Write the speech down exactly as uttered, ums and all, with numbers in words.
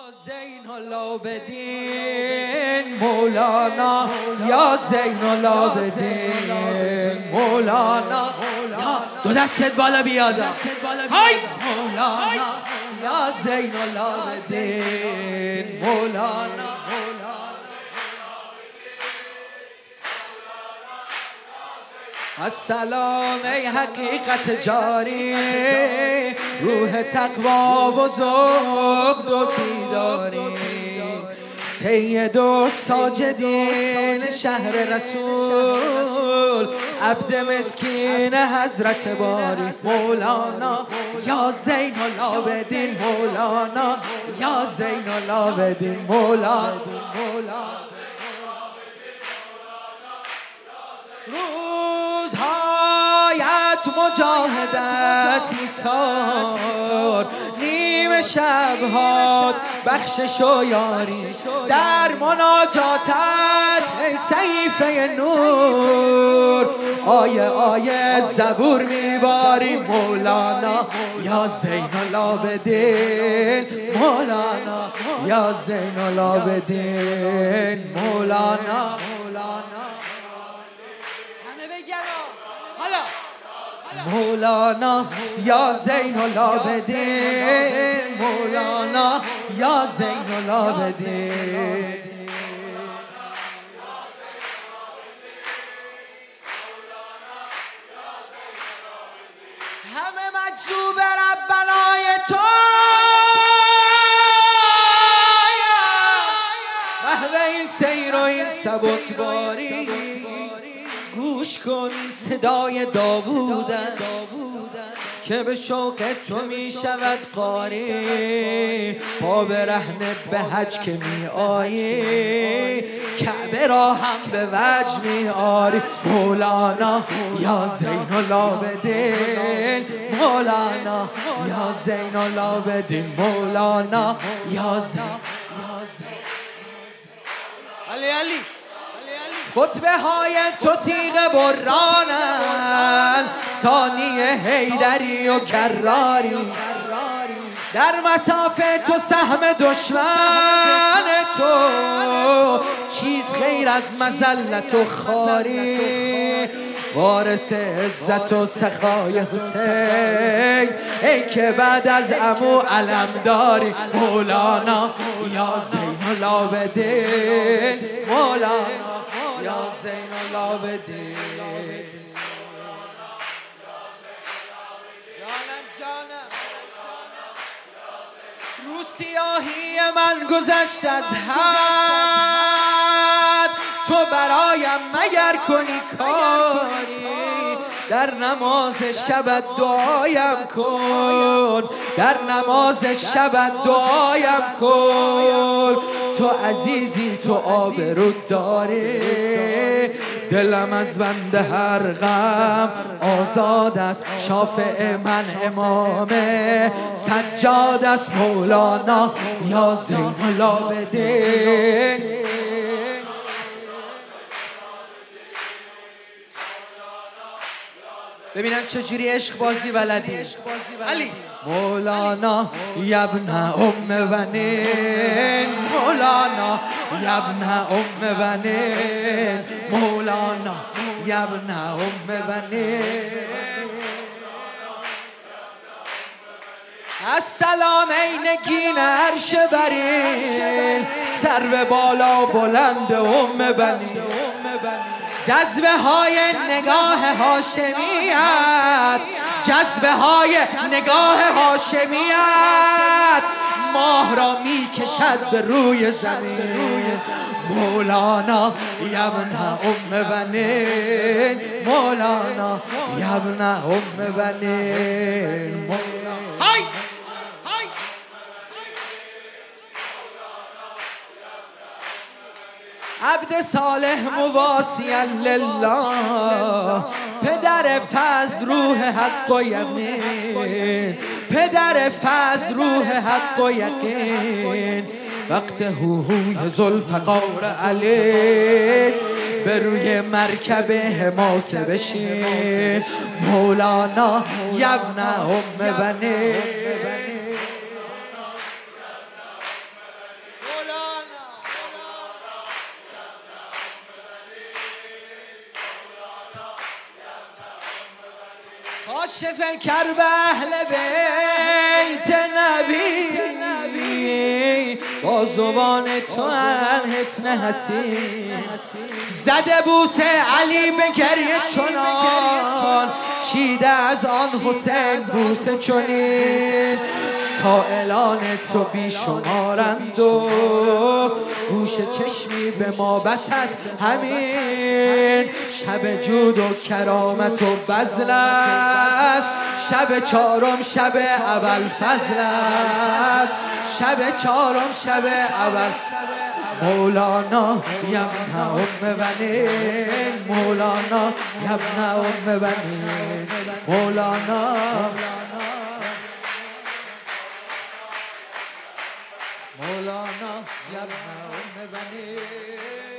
زین العابدین مولانا، یا زین العابدین مولانا. دو دستت بالا بیاد، های مولانا، یا زین العابدین مولانا. السلام ای حقیقت جاری، روح تقوا و زهد و بیداری، سید و ساجدین شهر رسول، عبد مسکین حضرت باری مولانا، یا زین العابدین مولانا، یا زین العابدین مولانا. روزهایت مجاهدت ایثار، نیم شبهات بخشش و یاری، در مناجاتت ای صحیفه نور، آیه آیه زبور میباری مولانا، یا زین العابدین مولانا، یا زین العابدین مولانا. مولانا، یا زین العابدین مولانا، یا زین العابدین. همه مجذوب ربنای تو، محو این سیر و این سبکباری، گوش کن صدای داوودن که به شوق تو می شود قاری، پا برهنه به حج که می آیی، کعبه را هم به وجه می آری مولانا، یا زین العابدین مولانا، یا زین العابدین مولانا، یا زین. علی علی خطبه های تو تیغ برانن، ثانی حیدری و کراری، در مسافه تو سهم دشمن تو، چیز خیر از مذلت و خاری، وارث عزت و سخای حسین، ای که بعد از عمو علم داری مولانا، یا زین العابدین مولانا، یا زین العابدین. جانم جانم رو سیاهی من گذشت از حد، تو برایم مگر کنی کاری، در نماز شب دعایم کن، در نماز شب دعایم کن، تو عزیزی تو آبرو داری، دلم از بند هر غم آزاد است، شافع من امام سجاد است مولانا، یا زین العابدین. ببینم چجوری عشق بازی بلدی علی. مولانا یبن ام بنین مولانا، یبن ام بنین مولانا، یبن ام بنین. السلام ای نگین عرش برین، سرو بالا بلند ام بنین، جذبه های نگاه هاشمیت، جذبه های نگاه هاشمیت، ماه را می کشد به روی زمین مولانا، یبن ام بنین مولانا، یبن ام بنین مولانا. های عبد صالح مواسیا لله، پدر فضل روح حق و یقین، پدر فضل روح حق و یقین، وقت هوهوی ذوالفقار علیز، به روی مرکب حماسه بشین مولانا، یبن ام بنین. کاشف کرب اهل بیت نبی با زبان تو الحسن حسین زده بوسه علی به گریه چنان شیده از آن حسین بوسه چنین سائلان تو بیشمارند و گوش چشمی به ما بس است همین شب جود و کرامت و بذل است شب چهارم شب اول فضل است شب چهارم شب اول مولانا یبن ام بنین مولانا یبن ام بنین مولانا مولانا یبن ام بنین